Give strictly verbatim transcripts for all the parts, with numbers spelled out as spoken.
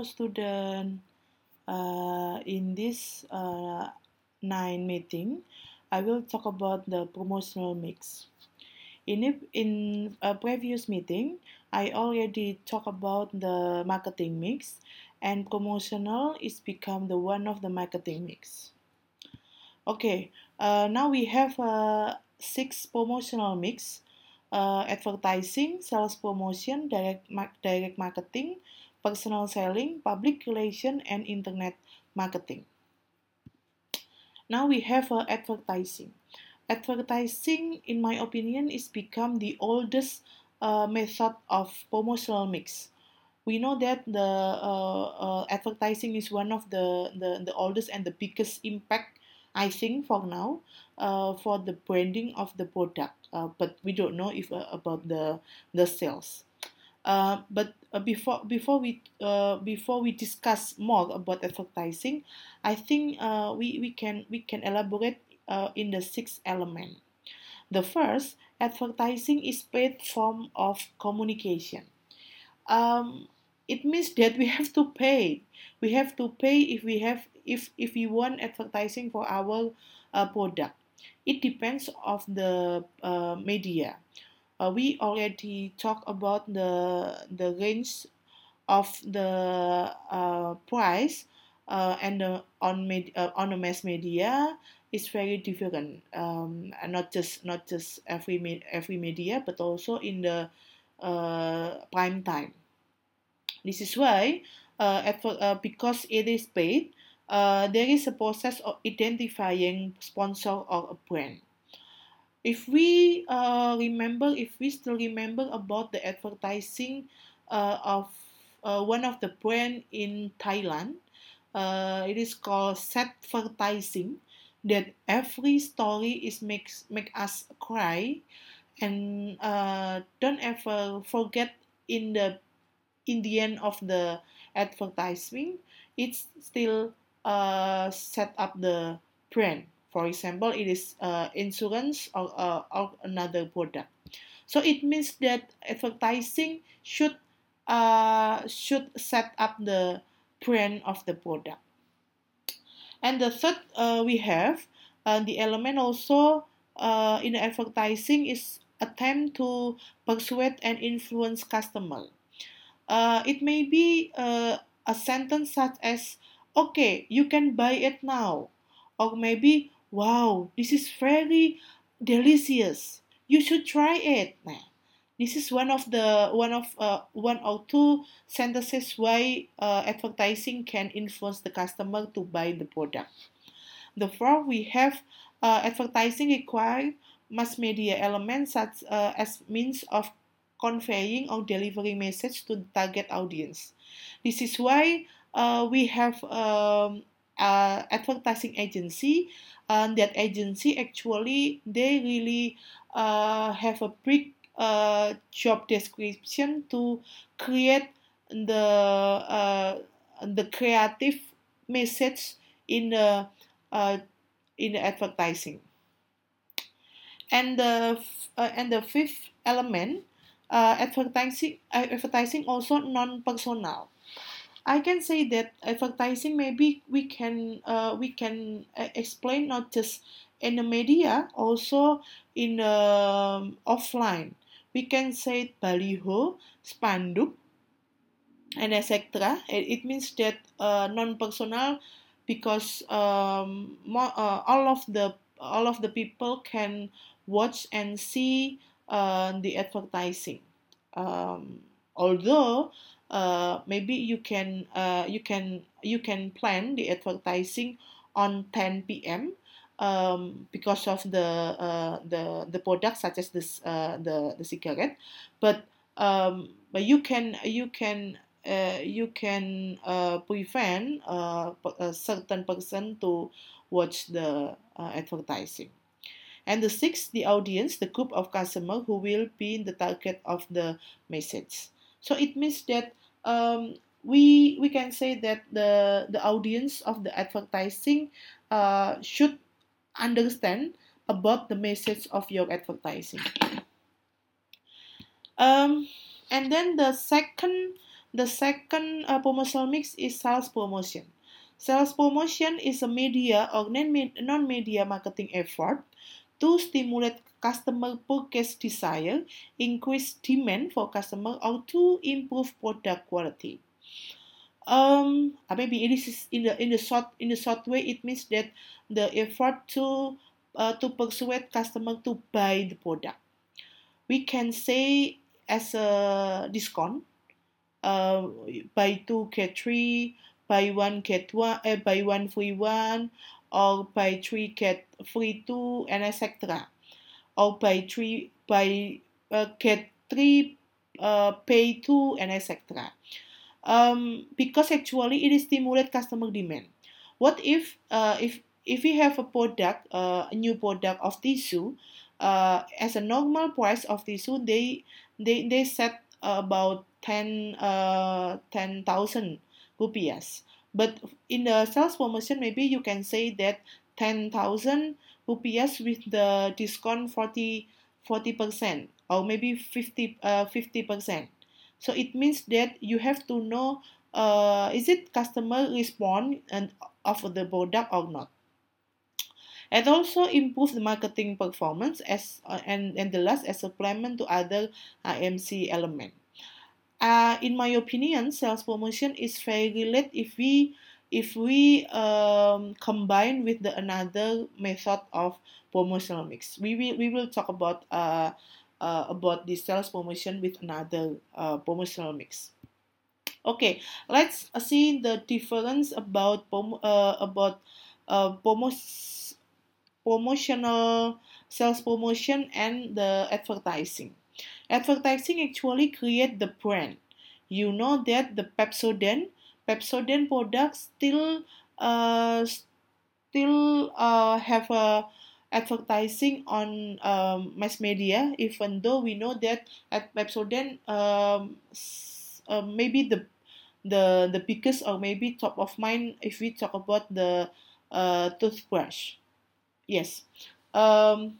Hello student. Uh, in this uh, nine meeting, I will talk about the promotional mix. In a, in a previous meeting, I already talked about the marketing mix, and promotional is become the one of the marketing mix. Okay, uh, now we have uh, six promotional mix: uh, advertising, sales promotion, direct mar- direct marketing, personal selling, public relation, and internet marketing. Now we have uh, advertising. Advertising, in my opinion, is become the oldest uh, method of promotional mix. We know that the uh, uh, advertising is one of the, the, the oldest and the biggest impact, I think, for now, uh, for the branding of the product. Uh, but we don't know if uh, about the the sales. Uh, but uh, before before we uh, before we discuss more about advertising, I think uh, we, we can we can elaborate uh, in the sixth element. The first, advertising is paid form of communication. Um, it means that we have to pay. We have to pay if we have if if we want advertising for our uh, product. It depends of the uh, media. Uh, we already talked about the the range of the uh, price uh, and the on med- uh, on the mass media is very different. Um, and not just not just every me- every media, but also in the uh, prime time. This is why, uh, adver- uh, because it is paid, uh, there is a process of identifying sponsor or a brand. If we uh, remember, if we still remember about the advertising uh, of uh, one of the brand in Thailand, uh, it is called Satvertising. That every story is makes make us cry, and uh, don't ever forget in the in the end of the advertising, it's still uh, set up the brand. For example, it is uh, insurance or, uh, or another product. So it means that advertising should uh, should set up the brand of the product. And the third uh, we have uh, the element also uh, in advertising is attempt to persuade and influence customer. Uh, it may be uh, a sentence such as, okay, you can buy it now. Or maybe, wow, this is very delicious. You should try it. Nah, this is one of the one of uh, one or two sentences why uh, advertising can influence the customer to buy the product. The fourth, we have uh, advertising require mass media elements such uh, as means of conveying or delivering message to the target audience. This is why uh, we have um, uh, advertising agency, and that agency actually they really uh, have a big uh, job description to create the uh, the creative message in the uh, in the advertising. And the uh, and the fifth element, uh, advertising uh, advertising also non-personal. I can say that advertising maybe we can uh, we can uh, explain not just in the media, also in the um, offline. We can say baliho, spanduk, and et cetera. It, it means that uh, non-personal because um, more, uh, all of the all of the people can watch and see uh, the advertising. Um, although uh, maybe you can uh, you can you can plan the advertising on ten p m Um, because of the uh, the the products such as this uh, the the cigarette, but um, but you can you can uh, you can uh, prevent uh, a certain person to watch the uh, advertising. And the sixth, the audience, the group of customer who will be the target of the message. So it means that um, we we can say that the the audience of the advertising uh, should understand about the message of your advertising. Um, and then the second The second uh, promotional mix is sales promotion. Sales promotion is a media or non-media marketing effort to stimulate customer purchase desire, increase demand for customer, or to improve product quality. Um, uh, maybe it is in the in the short in the short way. It means that the effort to uh, to persuade customer to buy the product. We can say as a discount, uh, buy two get three, buy one get one, uh, buy one free one, or buy three get free two, and et cetera. Or buy three buy uh, get three uh, pay two, and et cetera. Um, because actually it is stimulate customer demand. What if uh, if if we have a product, uh, a new product of tissue, uh, as a normal price of tissue, they they they set about ten uh ten thousand rupiahs. But in the sales promotion, maybe you can say that ten thousand rupiahs with the discount forty forty percent, or maybe fifty uh fifty percent. So it means that you have to know, uh, is it customer respond and of the product or not. And also improve the marketing performance as uh, and, and the last as supplement to other I M C element. Uh, in my opinion, sales promotion is very related if we if we um, combine with the another method of promotional mix. We will we will talk about uh, uh, about the sales promotion with another uh, promotional mix. Okay, let's see the difference about prom- uh, about uh, promos- promotional sales promotion and the advertising. Advertising actually create the brand. You know that the Pepsodent Pepsodent products still uh, still uh, have a advertising on um, mass media, even though we know that at Pepsodent um, s- uh, maybe the the the biggest or maybe top of mind if we talk about the uh, toothbrush. Yes. Um,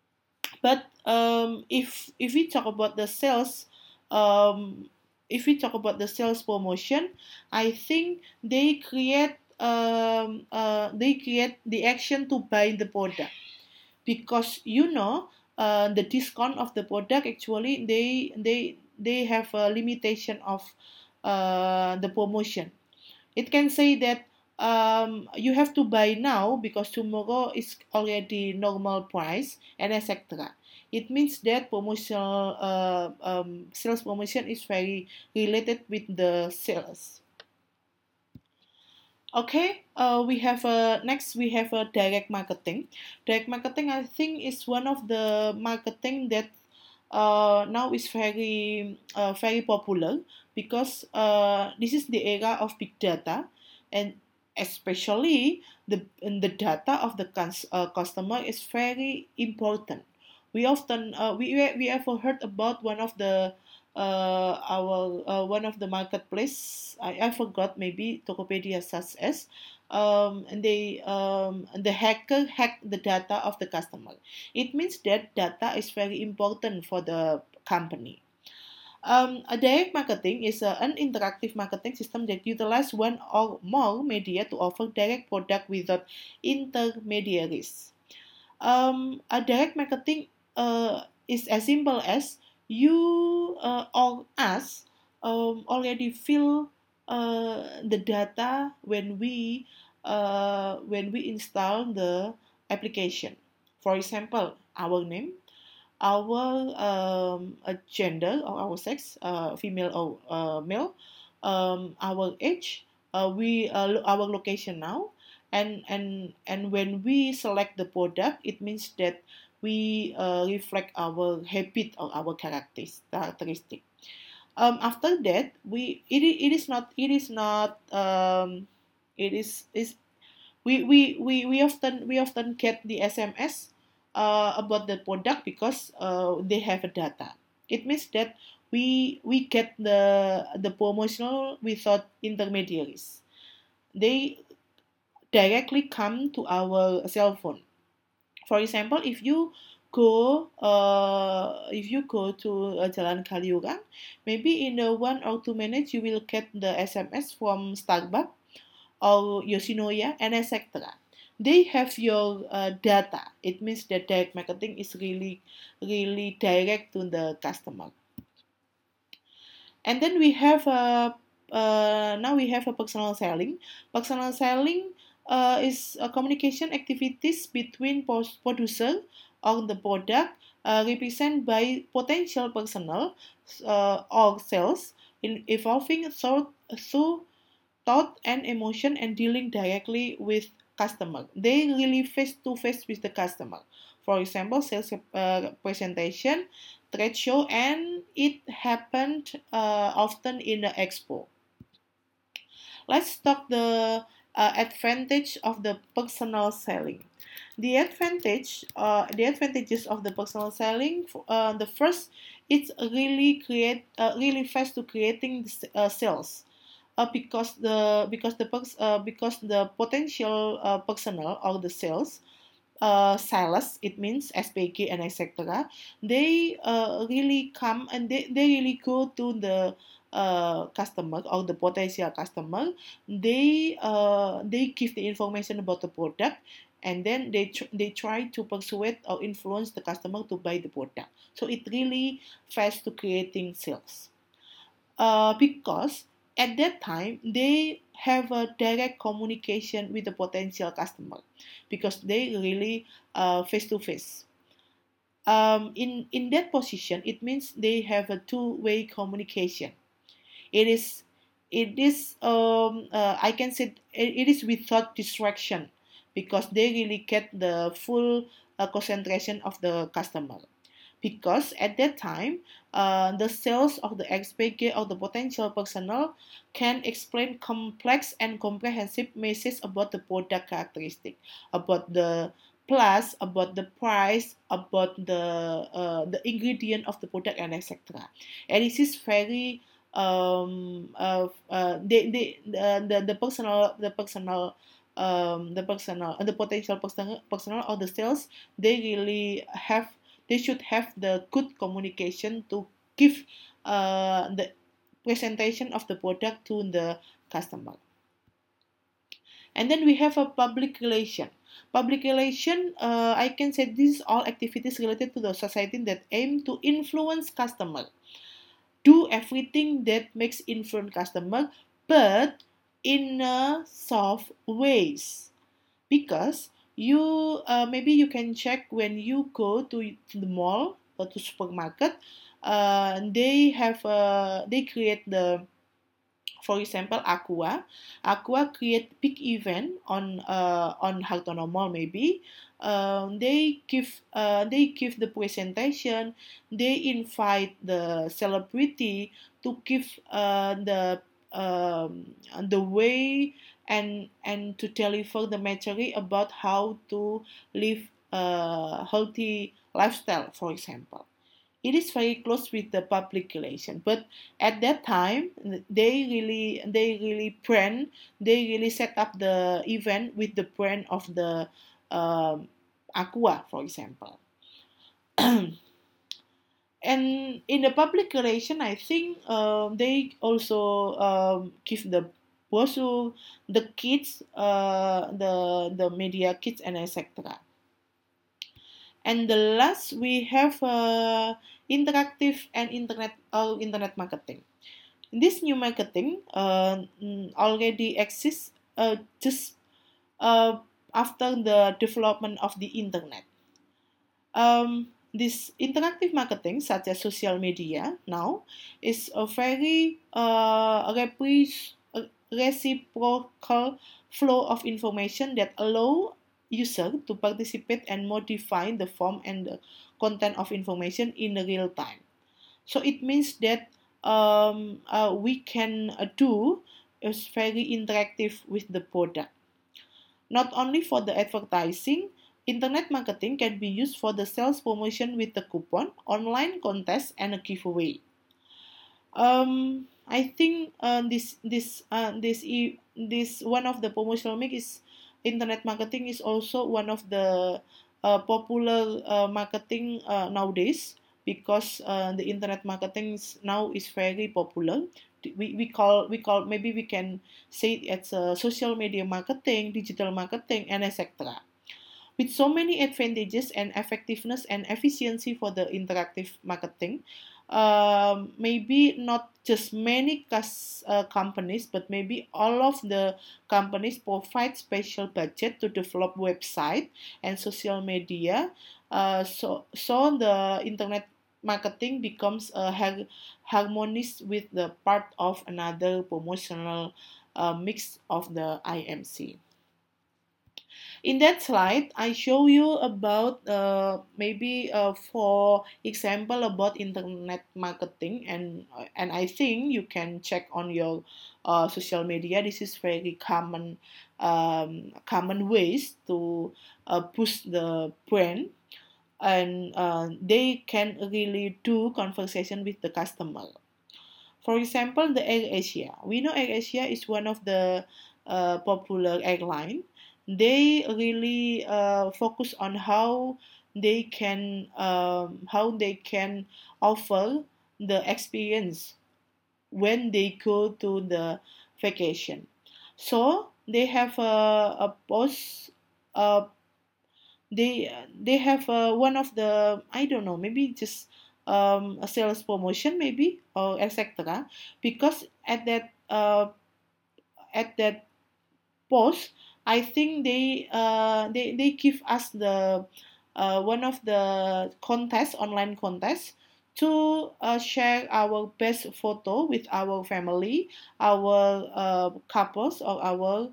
but um, if if we talk about the sales, um, if we talk about the sales promotion, I think they create um, uh, they create the action to buy the product, because you know uh, the discount of the product actually they they they have a limitation of uh, the promotion. It can say that um, you have to buy now because tomorrow is already normal price, and et cetera. It means that promotional uh, um, sales promotion is very related with the sales. Okay, uh, we have a next we have a direct marketing. Direct marketing, I think, is one of the marketing that uh, now is very uh, very popular, because uh, this is the era of big data, and especially the the data of the cons- uh, customer is very important. We often uh, we we ever heard about one of the uh, our uh, one of the marketplace. I, I forgot, maybe Tokopedia such as um, and they um, and the hacker hacked the data of the customer. It means that data is very important for the company. Um, a direct marketing is a, an interactive marketing system that utilizes one or more media to offer direct product without intermediaries. Um, a direct marketing uh, is as simple as you uh, or us um, already fill uh, the data when we uh, when we install the application. For example, our name, our um, uh, gender or our sex, uh, female or uh, male, um, our age, uh, we uh, our location now, and and and when we select the product, it means that we uh, reflect our habit or our characters characteristic. Um, after that, we it, i- it is not it is not um, it is is we we, we, we often we often get the S M S uh, about the product because uh, they have a data. It means that we we get the the promotional without intermediaries. They directly come to our cell phone. For example, if you go uh, if you go to uh, Jalan Kaliurang, maybe in the one or two minutes you will get the S M S from Starbucks or Yoshinoya and et cetera. They have your uh, data. It means that direct marketing is really, really direct to the customer. And then we have a uh, now we have a personal selling. Personal selling uh, is a communication activities between producer or the product uh, represented by potential personal uh, or sales in evolving through, through thought and emotion and dealing directly with customer. They really face to face with the customer. For example, sales uh, presentation, trade show, and it happened uh, often in the expo. Let's talk the uh, advantage of the personal selling. The advantage, uh, the advantages of the personal selling. Uh, the first, it's really create, uh, really fast to creating uh, sales. Uh, because the because the uh, because the potential uh, personnel or the sales uh, sales, it means S P G and et cetera. They uh, really come and they, they really go to the uh, customer or the potential customer. They uh, they give the information about the product, and then they tr- they try to persuade or influence the customer to buy the product. So it really fast to creating sales. Uh, because at that time they have a direct communication with the potential customer because they really uh, face to face. Um, in in that position, it means they have a two-way communication. It is it is um, uh, I can say it, it is without distraction because they really get the full uh, concentration of the customer because at that time, uh, the sales of the X P G or the potential personnel can explain complex and comprehensive messages about the product characteristic, about the plus, about the price, about the uh, the ingredient of the product, and et cetera. And this is very um uh, uh they, they uh, the the personal the personal um the personal and the potential personal personal or the sales, they really have they should have the good communication to give uh, the presentation of the product to the customer. And then we have a public relation. Public relation, uh, I can say this is all activities related to the society that aim to influence customer. Do everything that makes influence customer, but in a soft ways. Because you uh, maybe you can check when you go to, to the mall or to supermarket, uh, they have uh, they create the, for example, Aqua. Aqua create big event on uh, on Hartono Mall maybe. Um, they give uh, they give the presentation. They invite the celebrity to give uh, the um, the way and and to deliver the material about how to live a healthy lifestyle, for example. It is very close with the public relation, but at that time they really they really brand they really set up the event with the brand of the um, Aqua, for example. And in the public relation, I think um, they also um, give the brochure, the kids, uh, the the media kits, and et cetera. And the last we have uh, interactive and internet or internet marketing. This new marketing uh, mm, already exists uh, just uh, after the development of the internet. Um, this interactive marketing, such as social media, now is a very uh, repre- uh, reciprocal flow of information that allow user to participate and modify the form and the content of information in real time. So it means that um, uh, we can uh, do is very interactive with the product. Not only for the advertising, internet marketing can be used for the sales promotion with the coupon, online contest, and a giveaway. Um, I think uh, this this uh, this e- this one of the promotional mix is internet marketing is also one of the uh, popular uh, marketing uh, nowadays, because uh, the internet marketing is, now is very popular. We, we call we call maybe we can say it's a social media marketing, digital marketing, and et cetera. With so many advantages and effectiveness and efficiency for the interactive marketing, um, maybe not just many cus- uh, companies, but maybe all of the companies provide special budget to develop website and social media. Uh, so, so the internet marketing becomes a har- harmonious with the part of another promotional uh, mix of the I M C. In that slide, I show you about uh, maybe uh, for example about internet marketing, and and I think you can check on your uh, social media. This is very common um, common ways to uh, push the brand, and uh, they can really do conversation with the customer. For example, the Air Asia. We know Air Asia is one of the uh, popular airline. They really uh, focus on how they can um, how they can offer the experience when they go to the vacation. So they have a, a post. Uh, they they have uh, one of the, I don't know, maybe just um, a sales promotion maybe, or et cetera. Because at that uh, at that post, I think they uh, they they give us the uh, one of the contest online contest to uh, share our best photo with our family, our uh, couples, or our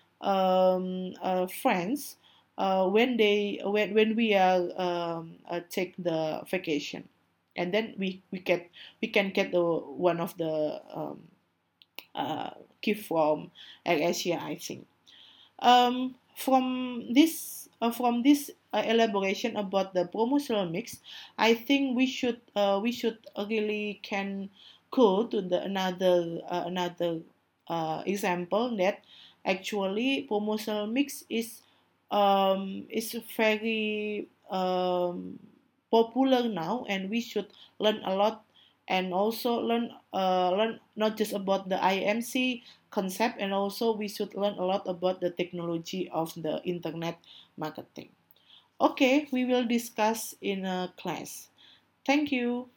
um, uh, friends uh, when they when, when we are um, uh, take the vacation, and then we we get we can get the one of the um, uh, gift from AirAsia, I think. Um, from this uh, from this uh, elaboration about the promotional mix, I think we should uh, we should really can go to the another uh, another uh, example that actually promotional mix is um, is very um, popular now, and we should learn a lot, and also learn uh, learn not just about the I M C concept, and also we should learn a lot about the technology of the internet marketing. Okay, we will discuss in a class. Thank you.